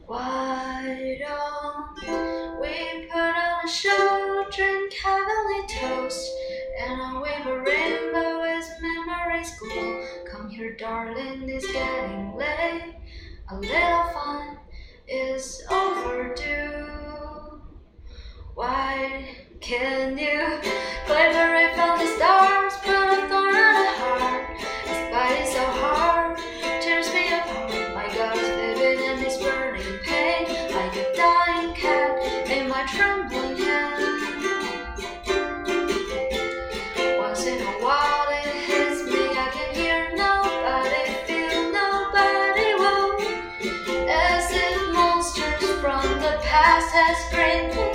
Why don't we put on a show, drink heavenly toast, and wave a rainbow as memories glow? Come here, darling, it's getting late. A little fun is overdue. Why can't you collaborate from the stars, put a thorn on a heart? It's biting so hard, tears me apart. My God is vivid and it's burning pain, like a dying cat in my trembling hand. Once in a while it hits me, I can hear nobody, feel nobody, whoa. As if monsters from the past has screamed.